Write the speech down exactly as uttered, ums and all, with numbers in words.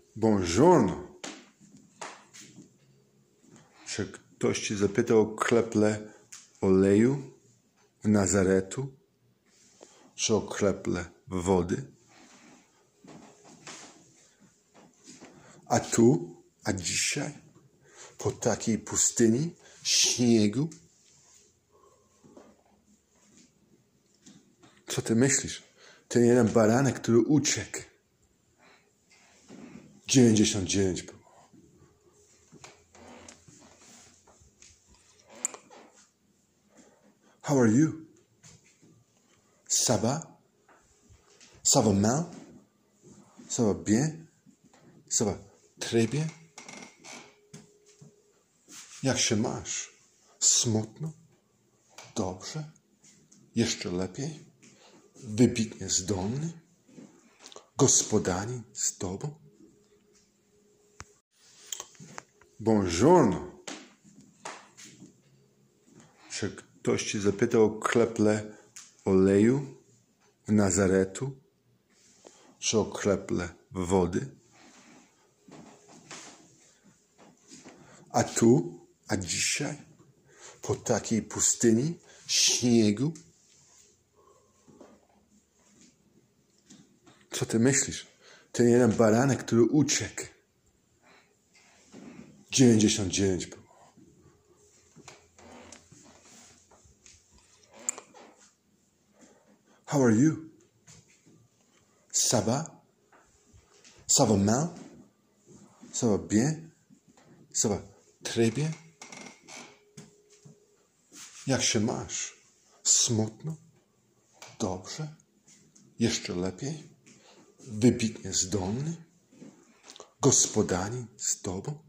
Buongiorno. Czy ktoś ci zapytał o kreple oleju w Nazaretu? Czy o kreple wody? A tu, a dzisiaj, po takiej pustyni, śniegu? Co ty myślisz? Ten jeden baranek, który uciekł. dziewięćdziesiąt dziewięć było. How are you? Ça va? Ça va mal? Ça va bien? Ça va très bien? Jak się masz? Smutno? Dobrze? Jeszcze lepiej? Wybitnie zdolny? Gospodarin z tobą? Buongiorno. Czy ktoś ci zapytał o kreple oleju w Nazaretu? Czy o kreple wody? A tu, a dzisiaj, po takiej pustyni, śniegu? Co ty myślisz? Ten jeden baranek, który uciekł. dziewięćdziesiąt dziewięć było. How are you? Ça va? Ça va mal? Ça va bien? Ça va très bien? Jak się masz? Smutno? Dobrze? Jeszcze lepiej? Wybitnie zdolny? Gospodarin z tobą?